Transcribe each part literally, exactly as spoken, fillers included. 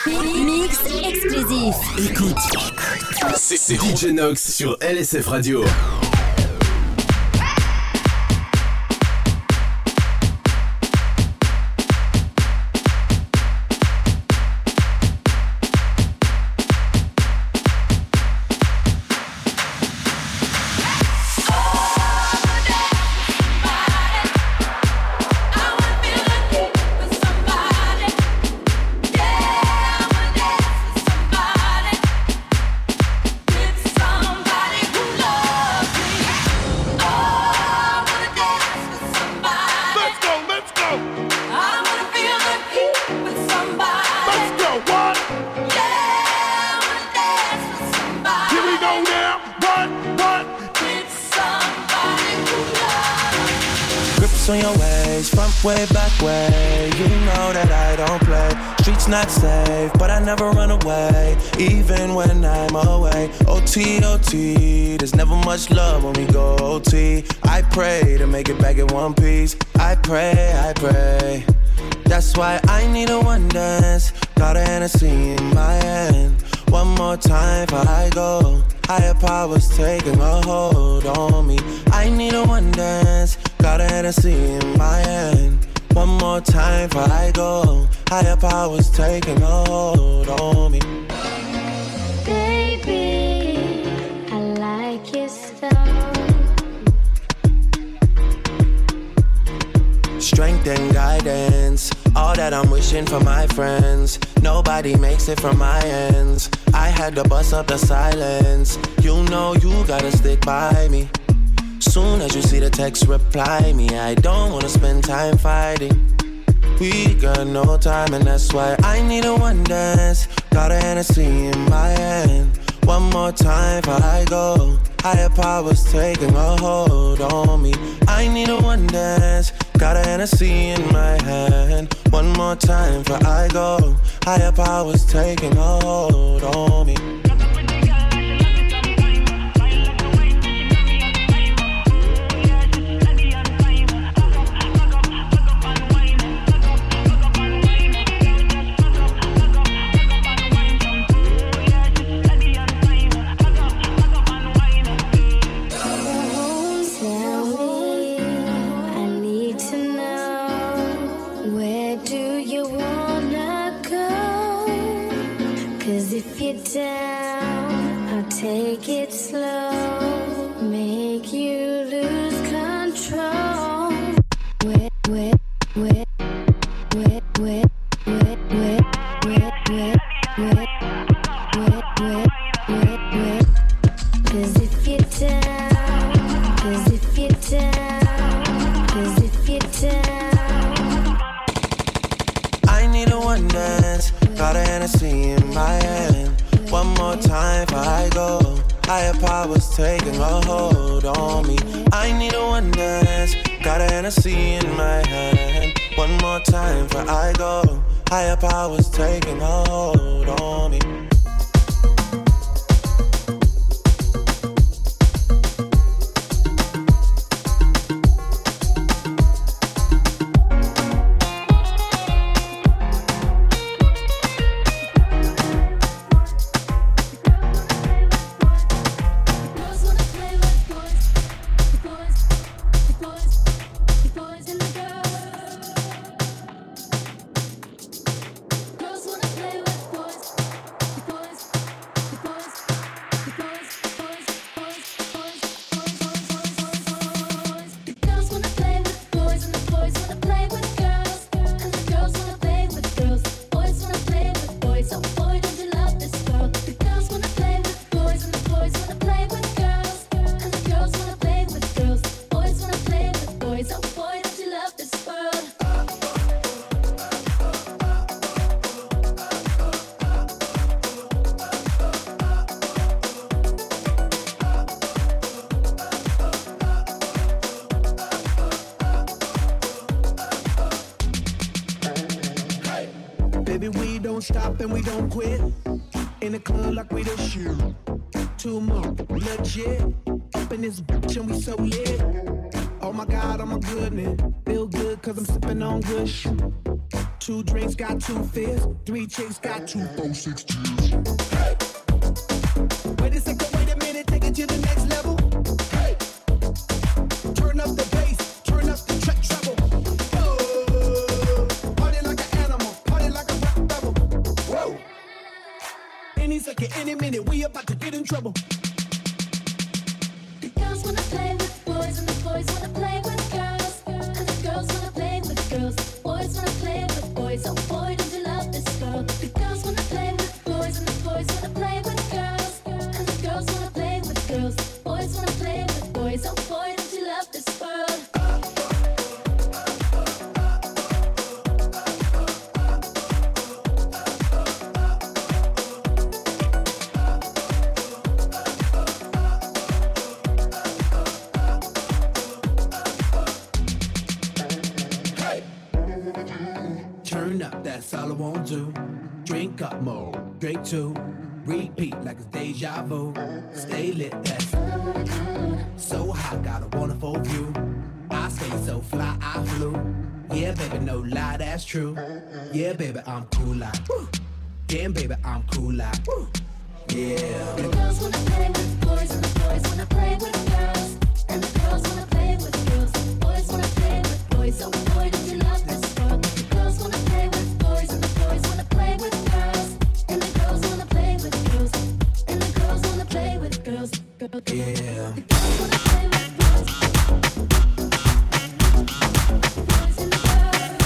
Mix exclusif. Écoute, Écoute. C'est, c'est D J Nox sur L S F Radio. On your ways, front way, back way. You know that I don't play. Streets not safe, but I never run away, even when I'm away. O T, O T, there's never much love when we go O T. I pray to make it back in one piece. I pray, I pray. That's why I need a one dance. Got a Hennessy in my hand. One more time before I go. Higher powers taking a hold on me. I need a one dance. Got a Hennessy in my hand. One more time before I go. Higher powers taking a hold on me. Baby, I like your style. Strength and guidance, all that I'm wishing for my friends. Nobody makes it from my ends. I had to bust up the silence. You know you gotta stick by me. Soon as you see the text, reply me. I don't wanna spend time fighting. We got no time and that's why I need a one dance. Got a Hennessy in my hand. One more time before I go. Higher powers taking a hold on me. I need a one dance. Got a Hennessy in my hand. One more time before I go. Higher powers taking a hold on me. Take it slow, make you lose control. Wet, wet, wet, wet, wet, wet, wet, wet, wet, wet, wet, wet, wet, wet. 'Cause if you're down, 'cause if you're down, 'cause if you're down. I need a one dance, got a Hennessy in my hand. One more time before I go. Higher powers taking a hold on me. I need a one dance. Got a Hennessy in my hand. One more time before I go. Higher powers taking a hold on me. Stop and we don't quit. In the club like we the shoot. Two more, legit. Up in this bitch and we so lit. Oh my God, oh my goodness. Feel good cause I'm sipping on good shit. Two drinks got two fears. Three chicks got two, four, six cheers. Hey. Wait a second, wait a minute, take it to the next level. Hey. Turn up the bass, turn up the track treble. Oh. Party like an animal, party like a rap rebel. Whoa. Any second, any minute, we about to get in trouble. The girls wanna play with boys and the boys wanna play with girls. And the girls wanna play with girls. Boys wanna play with boys. Oh boy, don't you love this girl? The girls wanna play with boys and the boys wanna play with girls. And the girls wanna play with girls. Boys wanna play with boys. Oh boy, don't you love this world? Turn up, that's all I won't do. Drink up more, drink two. Repeat like it's deja vu. Stay lit, that's so hot, got a wonderful view. I stay so fly, I flew. Yeah, baby, no lie, that's true. Yeah, baby, I'm cool like. Damn, baby, I'm cool like. Yeah. The girls wanna play with boys and the boys wanna play with girls. And the girls wanna play with girls. Boys wanna play with boys. Oh boy, don't you love this world? The girls wanna play with boys and the boys wanna play with girls. And the girls wanna play with girls. And the girls wanna play with girls. Yeah. The girls wanna play with boys. Boys and the girls.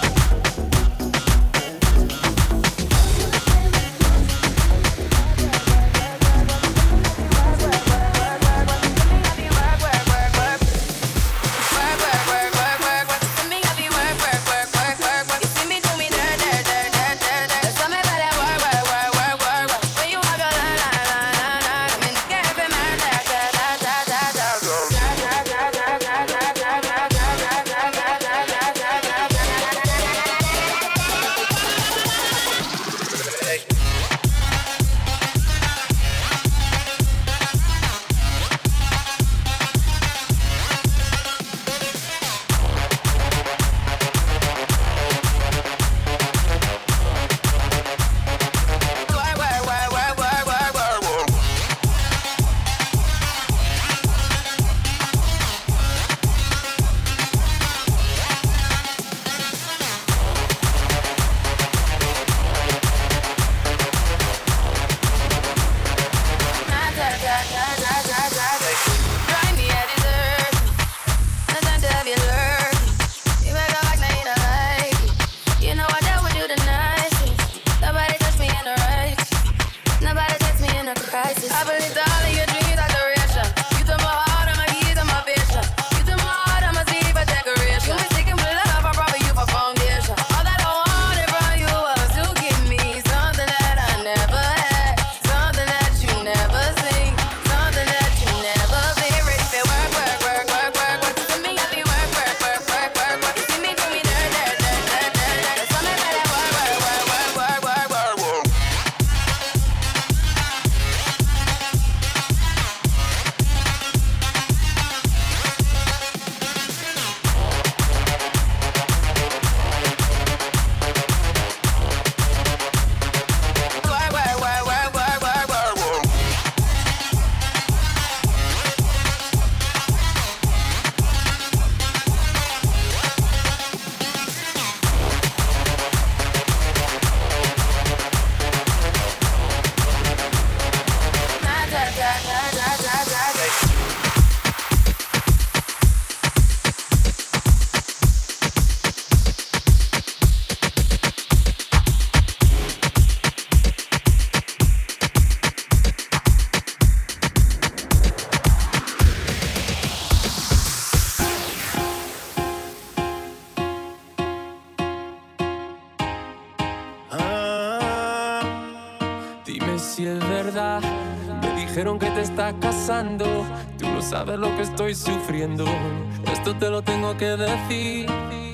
Si es verdad, me dijeron que te estás casando. Tú no sabes lo que estoy sufriendo. Esto te lo tengo que decir.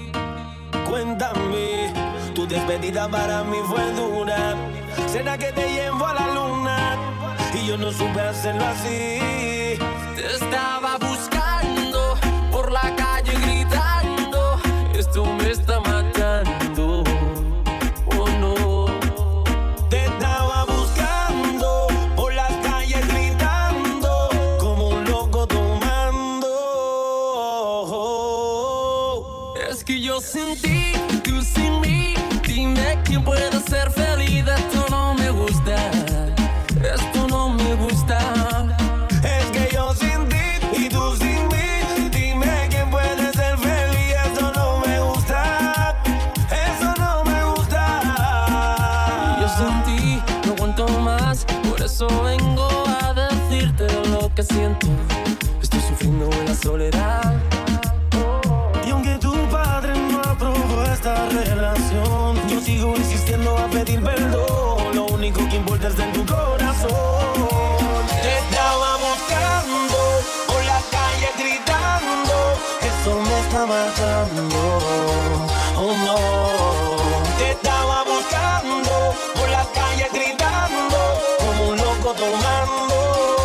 Cuéntame, tu despedida para mí fue dura. ¿Será que te llevo a la luna? Y yo no supe hacerlo así. Te estaba buscando por la calle gritando. Esto me está matando. sin ti no aguanto más. Por eso vengo a decirte lo que siento. Estoy sufriendo en la soledad. Y aunque tu padre no aprobó esta relación, yo sigo insistiendo a pedir perdón. Lo único que importa es en tu corazón. Te estaba buscando por la calle gritando, eso me está matando. Oh no. Te estaba buscando por la calle gritando, como un loco tomando.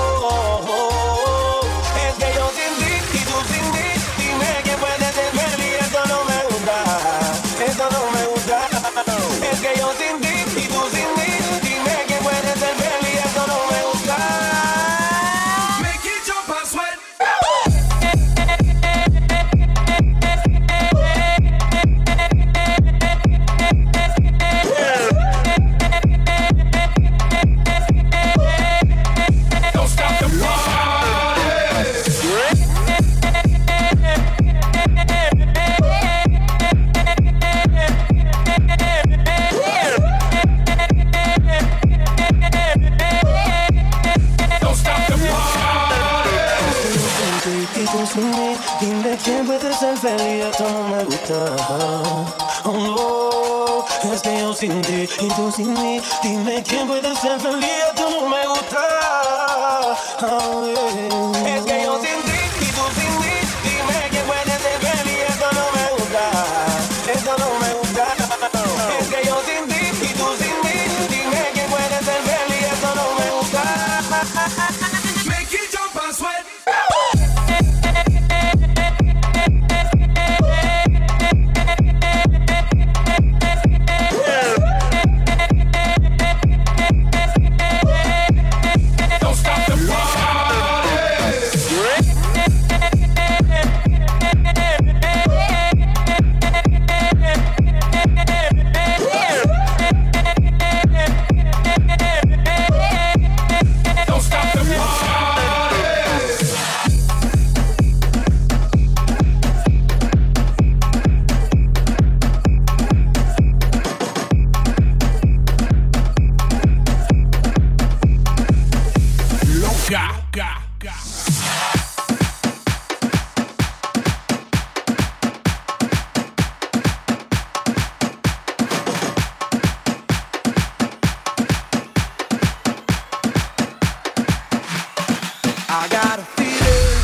Es que yo sin ti y tú sin mí, dime que puedes ser feliz. Esto no me gusta, esto no me gusta. Es que yo sin ti y tú sin mí, dime que puedes ser feliz. Esto no me gusta. Make it jump and sweat. Don't stop the party. Don't stop the party. Y tú sin mí, dime quién puede ser feliz. Esto no me gusta. Oh no, es que yo sin ti y tú sin mí, dime quién puede ser feliz. Esto no me gusta. Oh, yeah. Es que yo sin ti y tú sin mí, dime quién puede ser feliz. Esto no me gusta, esto no me gusta. Es que yo sin ti y tú sin mí, dime quién puede ser feliz. Esto no me gusta. Make it jump and sweat. Don't stop the party. Don't stop the party. Loca. I got a feeling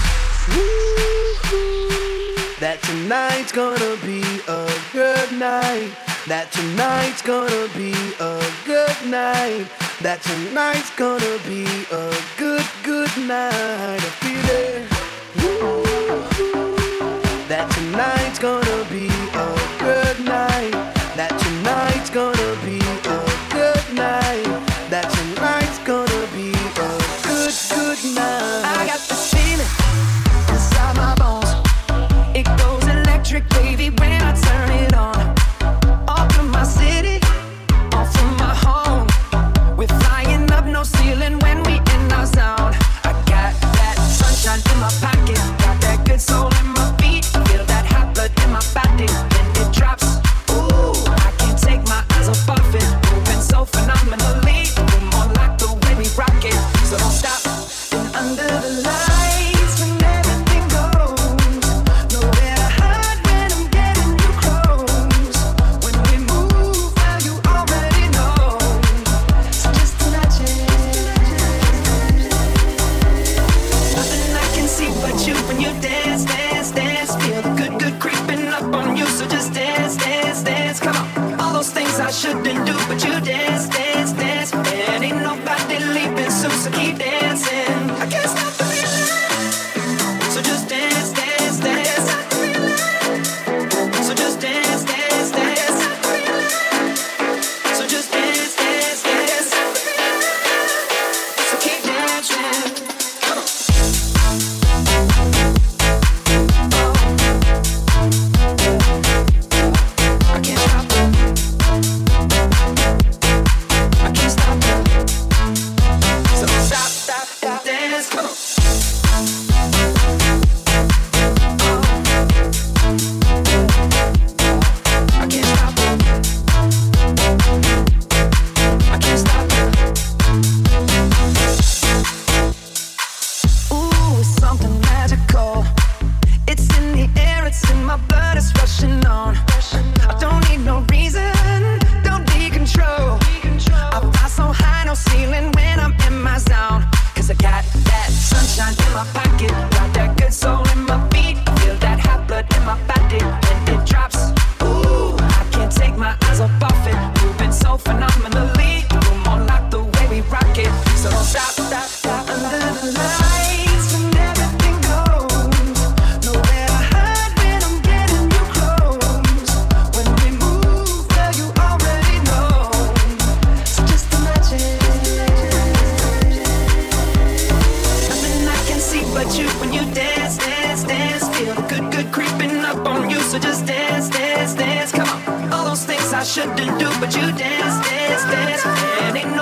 that tonight's gonna be a good night. That tonight's gonna be a good night. That tonight's gonna be a good, good night. A feeling that tonight's gonna be a good night. That tonight's gonna be a good night. That tonight's gonna be a good, good night. I got this feeling inside my bones. It goes electric, baby, when I turn it on. Off from my city, off from my home. We're flying up, no ceiling when we in our zone. I got that sunshine in my pocket, got that good soul in my feet. Feel that hot blood in my body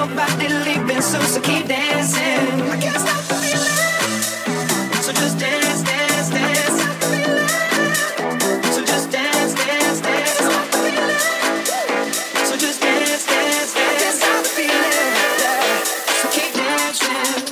nobody leaving, so so keep dancing. I can't stop the feeling. So just dance, dance, dance. So just dance, dance, dance. So just dance, dance, dance. I can't stop the feeling. Yeah. So keep dancing.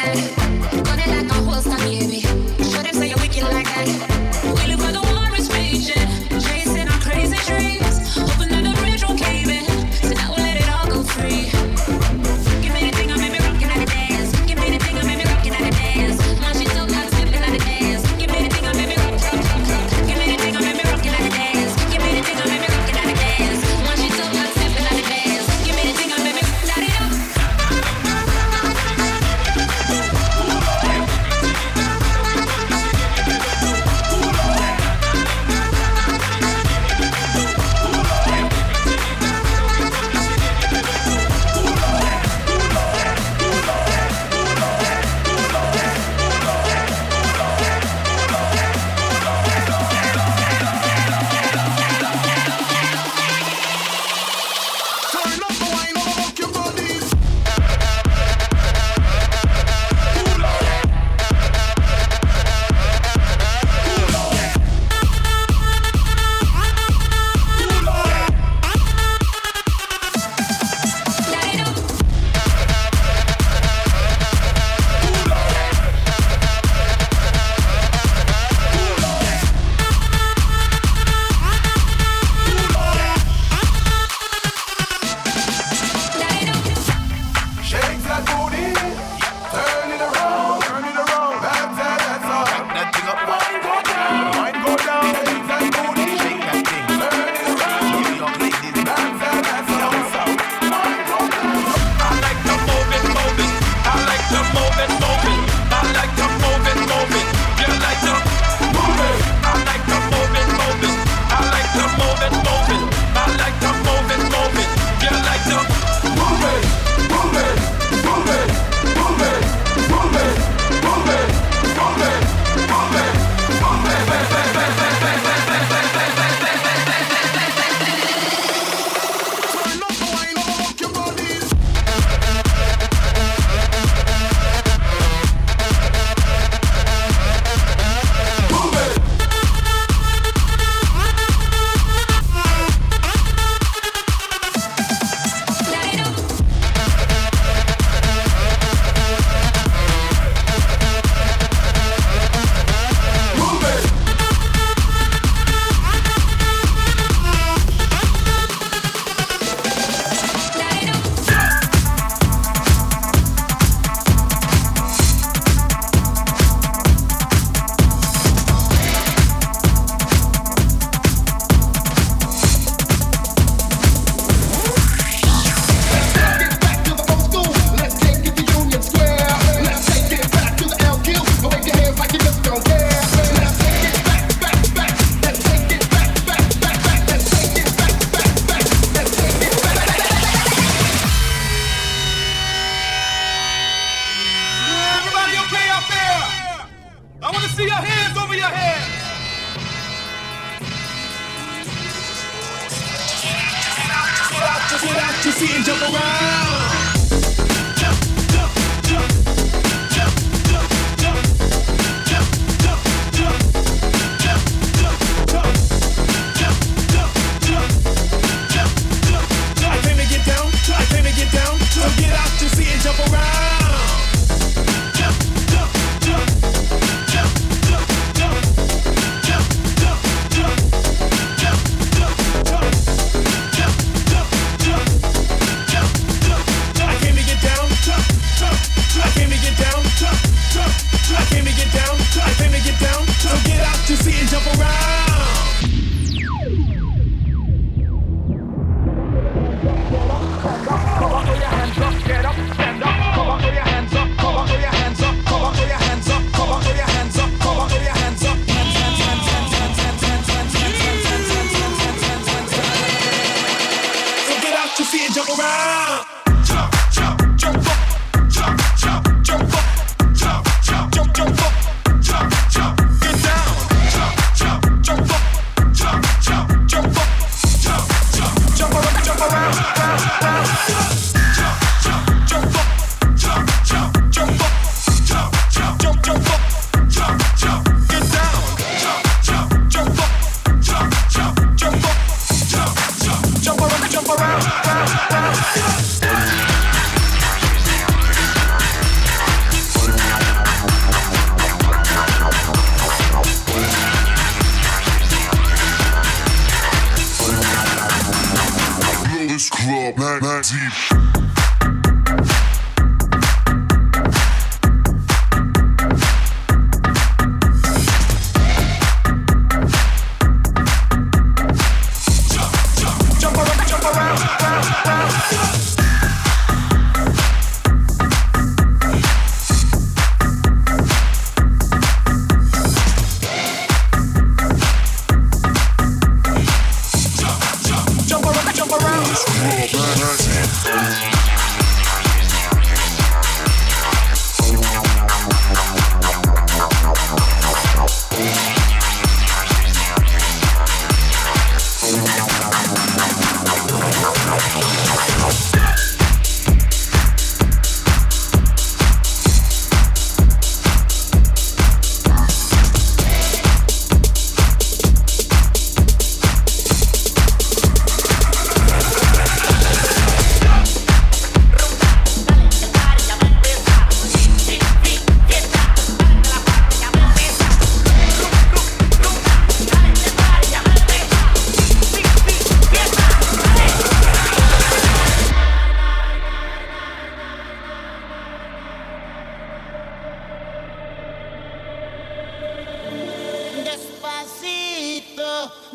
that. Gun it like a holster, baby. Show them say you're wicked like that. We live where the war is raging, chasing our crazy dreams, hoping that the bridge won't cave in. So now we'll let it all go free. Give me the thing, I made me rockin' at the dance. Give me the thing, I made me rockin' at the dance. Now she so got slipping at the dance. Give me the thing, I made me rock, rock, rock, rock. Give me the thing, I made me rockin' at the dance. Give me the thing, I made me rockin' at the dance. Now she so got slipping at the dance. Give me the thing, I made me light it up.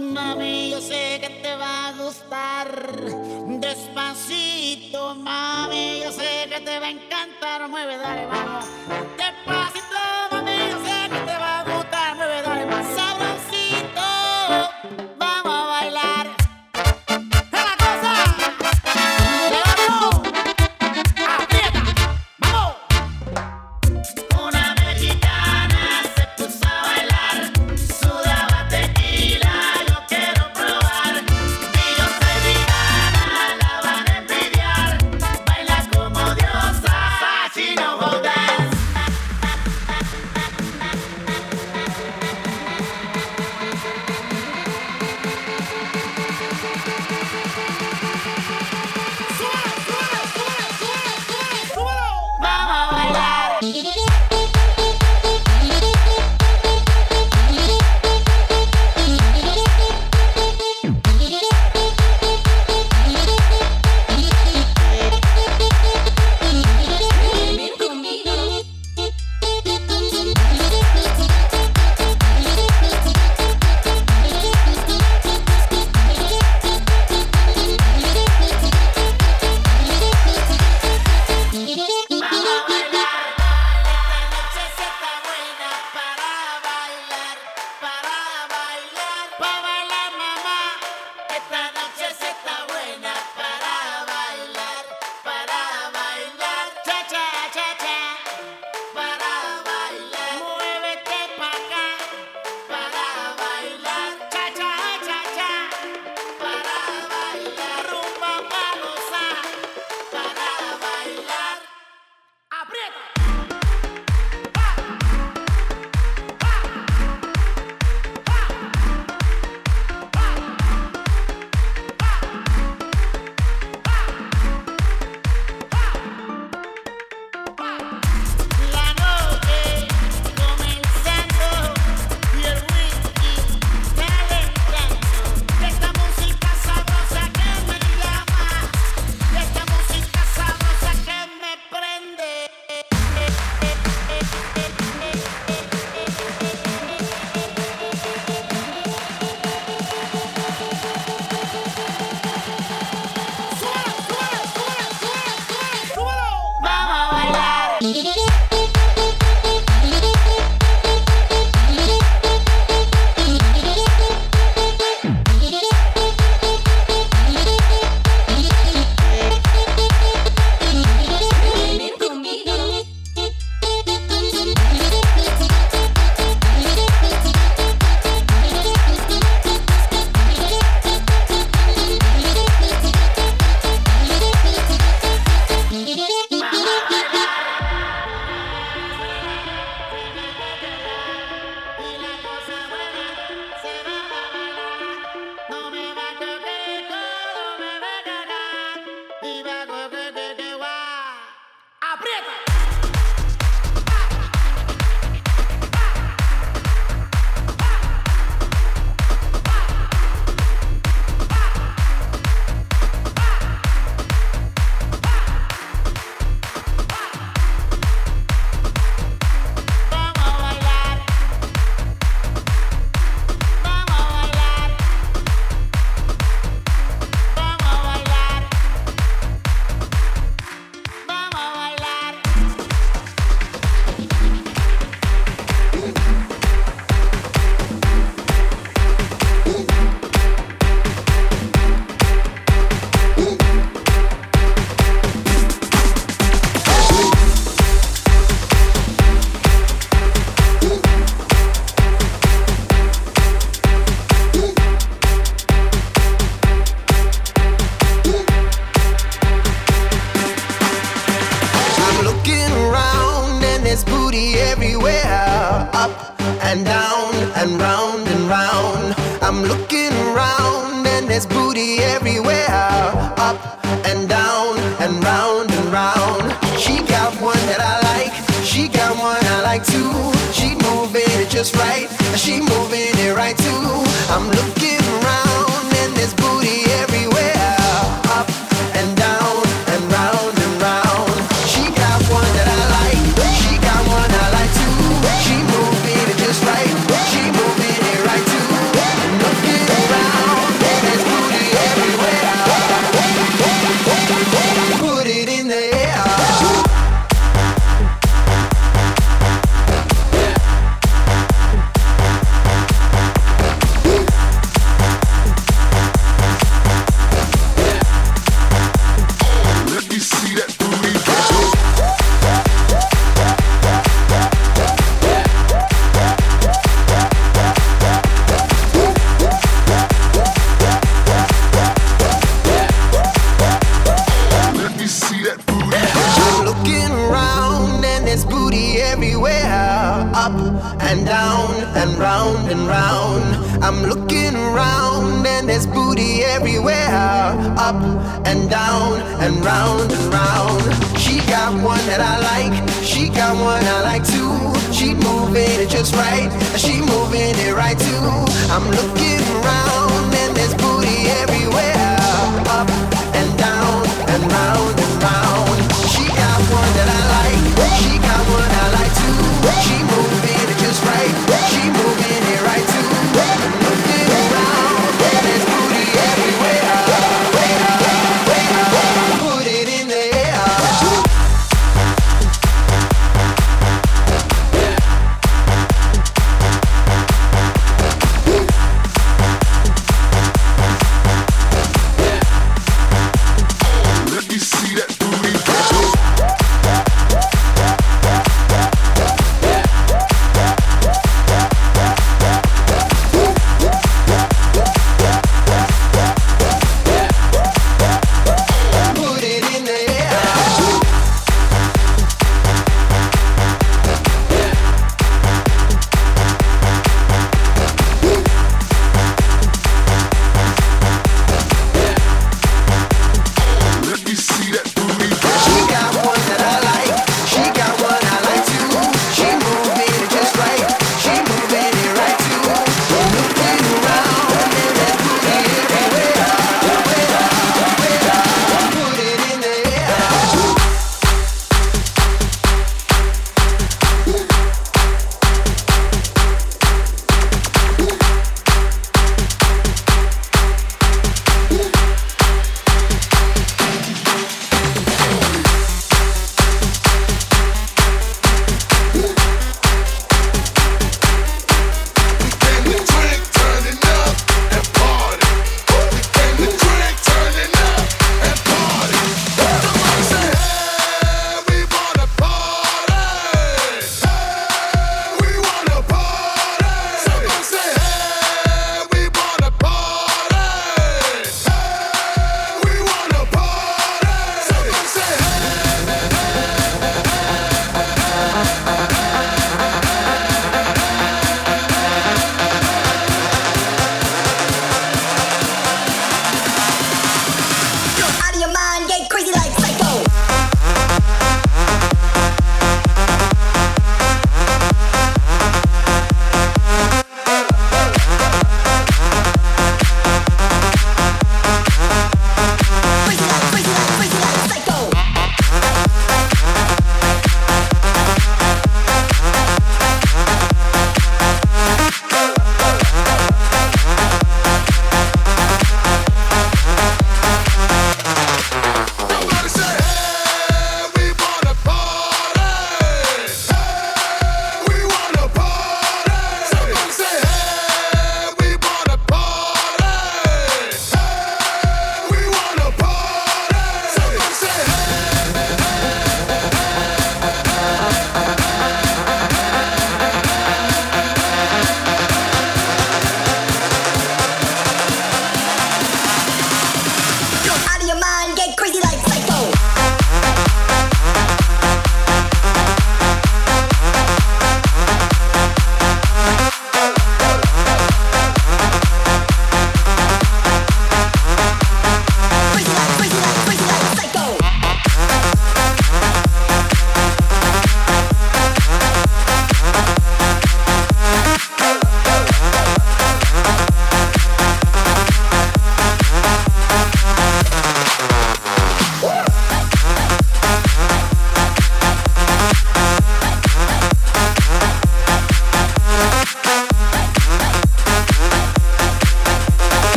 Mami, yo sé que te va a gustar. Despacito, mami, yo sé que te va a encantar. Mueve, dale, vamos. Despacito, mami, yo sé que te va a gustar. Mueve, dale, más sabrosito. Vamos a bailar. ¡Es la cosa! ¡Levantó! ¡Aprieta! ¡Vamos! Una mexicana se puso a bailar. Sudaba tequila, yo quiero probar. Y yo soy vegana, la van a envidiar. Baila como diosa, she know how dance. ¡Súbelo, súbelo, súbelo, súbelo, súbelo, súbelo! ¡Vamos a bailar! Ven conmigo. Vamos a bailar. Esta noche se está buena para bailar, para bailar, para bailar, mamá. Esta noche se está buena para bailar, para bailar, cha cha cha cha, para bailar. Muévete pa' acá, para bailar, cha cha cha cha, para bailar. Rumba pa' gozar, para bailar. ¡Aprieta! La noche comenzando y el whisky calentando. Esta música sabrosa que me llama, esta música sabrosa que me prende. ¡Súbelo, súbelo, súbelo, súbelo, súbelo, súbelo! ¡Vamos a bailar! Ven conmigo. Y la cosa buena se va a bailar. No me va a coger, no me va a cagar. Y va a coger, que que va. ¡Aprieta! Vamos a bailar. Vamos a bailar. Vamos a bailar. Vamos a bailar. I'm looking around and there's booty everywhere, up and down and round and round. I'm looking around and there's booty everywhere, up and down and round and round. She got one that I like, she got one I like too. She moving it just right, she moving it right too. I'm looking around and there's booty everywhere, up and down and round and round. She got one that I like, she got one I like too. She moving it just right, she moving it right too. I'm looking around. and down and round and round. I'm looking around and there's booty everywhere. Up and down and round and round. She got one that I like, she got one I like too. She moving it just right, she moving it right too. I'm looking around and there's booty everywhere. Up and down and round and round. She got one that I like, she got one I like too. She moving it just right, she moving it right too. I'm looking around and there's booty everywhere. Put it in the air. Let me see that booty.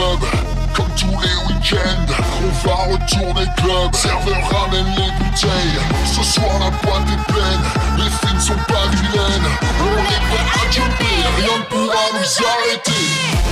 club. Comme tous les week-ends, on va retourner club. Serveur ramène les bouteilles. Ce soir la boîte est pleine. Les filles ne sont pas vilaines. On est prêt à jumper, rien ne pourra nous arrêter.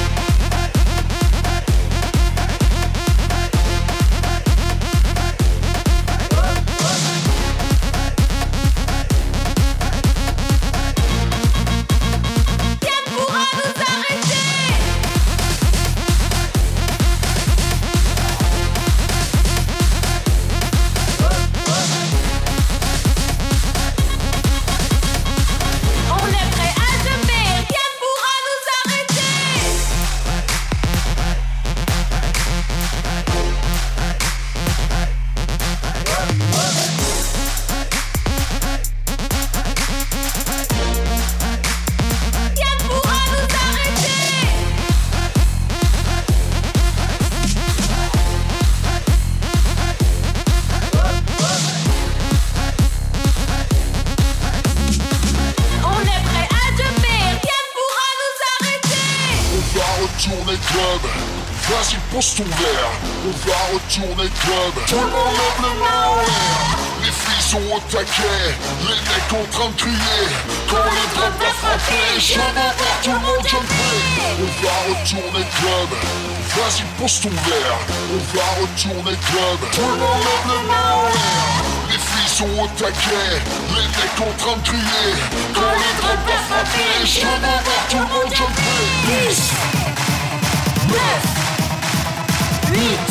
Vas-y, pose ton verre, on va retourner club. Tout le monde lève les mains en l'air. Les filles sont au taquet, les mecs en train de crier. Quand les drums vont frapper, je veux voir tout le monde jumper. On va retourner club. Vas-y, pose ton verre, on va retourner club. Tout le monde lève les mains en l'air. Les filles sont au taquet, les mecs en train de crier. Quand les drums vont frapper, je veux voir tout le monde jumper. dix, neuf, huit,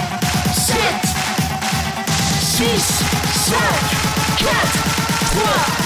sept, six, cinq, quatre, trois,